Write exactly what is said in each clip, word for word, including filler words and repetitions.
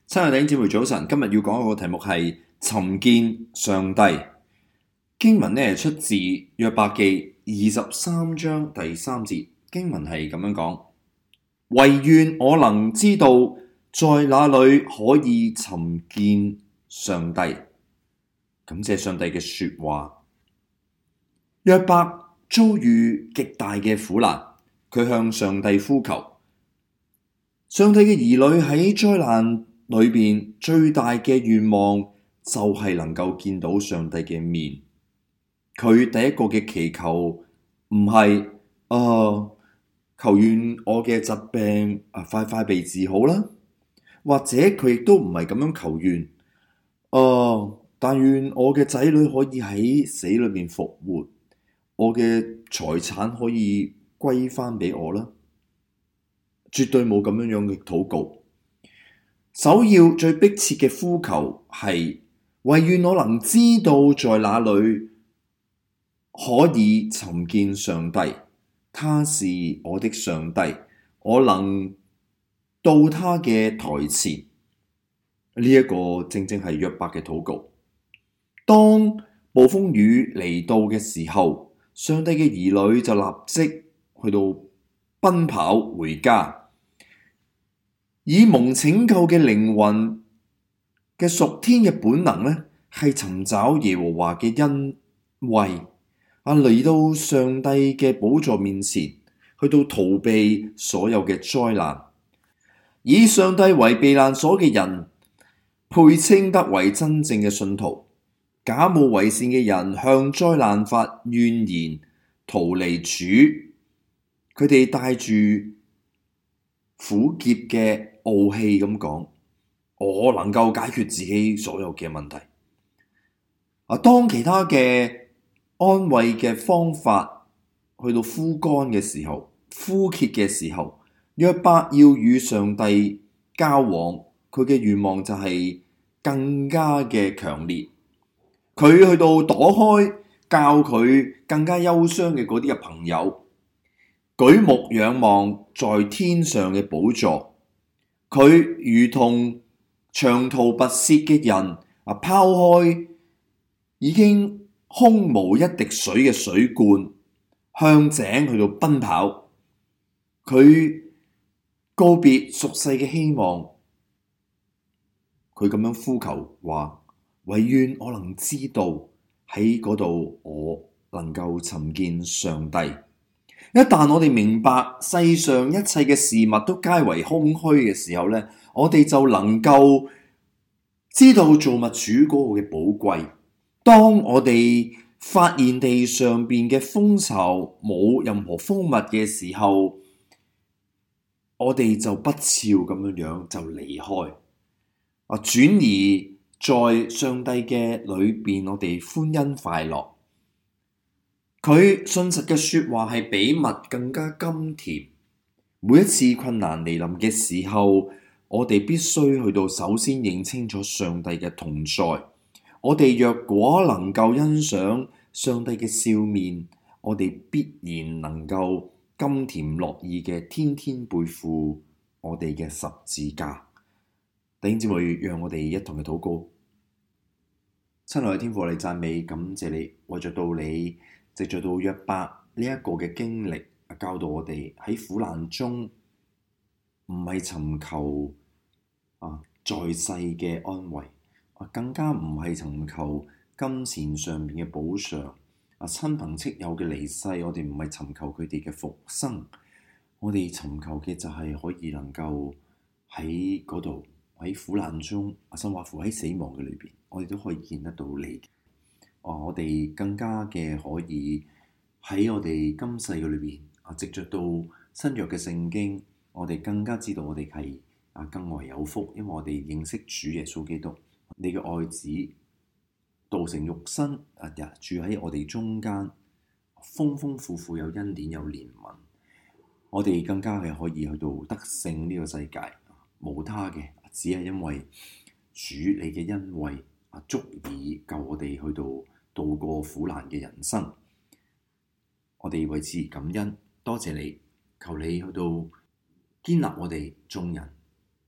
親愛的弟兄姊妹早晨，今日要講一個題目係尋見上帝。經文呢出自約伯記二十三章第三節，經文係咁樣講：惟願我能知道在哪裏可以尋見上帝。感謝上帝嘅說話。約伯遭遇極大嘅苦難，佢向上帝呼求。上帝嘅兒女喺災難裏邊最大嘅願望就係能夠見到上帝嘅面。佢第一個嘅祈求唔係啊，求願我嘅疾病啊快快被治好啦，或者佢亦都唔係咁樣求願啊，但願我嘅仔女可以喺死裏面復活，我嘅財產可以歸翻俾我啦。絕對冇咁樣樣嘅禱告。首要最迫切嘅呼求係惟願我能知道在哪裏可以尋見上帝，他是我的上帝，我能到他嘅台前。呢、這、一個正正係約伯嘅禱告。當暴風雨嚟到嘅時候，上帝嘅兒女就立即去到奔跑回家。以蒙拯救嘅靈魂嘅屬天嘅本能呢，係尋找耶和華嘅恩惠啊，嚟到上帝嘅寶座面前，去到逃避所有嘅災難。以上帝為避難所嘅人，配稱得為真正嘅信徒。假冒為善嘅人向災難發怨言，逃離主。佢哋帶住苦澀嘅傲氣咁講，我能夠解決自己所有嘅問題。啊，當其他嘅安慰嘅方法去到枯乾嘅時候，枯竭嘅時候，約伯要與上帝交往，佢嘅願望就係更加嘅強烈。佢去到躲開教佢更加憂傷嘅嗰啲嘅朋友，舉目仰望在天上嘅寶座。佢如同長途跋涉嘅人啊，拋開已經空無一滴水嘅水罐，向井去到奔跑。佢告別俗世嘅希望，佢咁樣呼求話：惟願我能知道喺嗰度，我能夠尋見上帝。一旦我哋明白世上一切嘅事物都皆為空虛嘅時候呢，我哋就能夠知道造物主嗰個嘅寶貴。當我哋發現地上邊嘅蜂巢冇任何蜂蜜嘅時候，我哋就不肖咁樣樣就離開啊，轉而在上帝嘅裏邊，我哋歡欣快樂。佢信實嘅說話係比蜜更加甘甜。每一次困難嚟臨嘅時候，我哋必須去到首先認清楚上帝嘅同在。我哋若果能夠欣賞上帝嘅笑面，我哋必然能夠甘甜樂意嘅天天背負我哋嘅十字架。弟兄姊妹，讓我哋一同去禱告。親愛嘅天父，我哋讚美感謝你，為着到你藉着到約伯呢一個嘅經歷，教導我哋喺苦難中唔係尋求啊在世嘅安慰，啊更加唔係尋求金錢上面嘅補償，啊親朋戚友嘅離世，我哋唔係尋求佢哋嘅復生，我哋尋求嘅就係可以能夠喺嗰度喺苦難中，啊甚或乎喺死亡嘅裏邊，我哋都可以見得到你。啊！我哋更加嘅可以喺我哋今世嘅裏邊啊，藉着到新約嘅聖經，我哋更加知道我哋係啊更為有福，因為我哋認識主耶穌基督，你嘅愛子道成肉身啊，住喺我哋中間，豐豐富富有恩典有憐憫，我哋更加係可以去到得勝呢個世界，無他嘅，只係因為主你嘅恩惠啊，足以救我哋去到度過苦難嘅人生。我哋為此感恩，多謝你，求你去到堅立我哋眾人，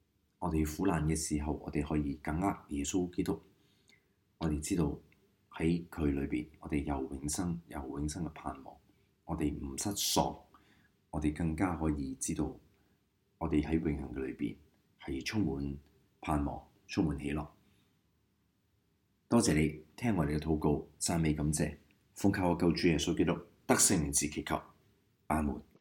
我哋苦難嘅時候，我哋可以緊握耶穌基督。我哋知道喺佢裏邊，我哋有永生，有永生嘅盼望。我哋唔失喪，我哋更加可以知道，我哋喺永恆嘅裏邊係充滿盼望，充滿喜樂。多謝你聽我哋嘅禱告，讚美感謝，奉靠我救主耶穌基督得勝名字祈求，阿門。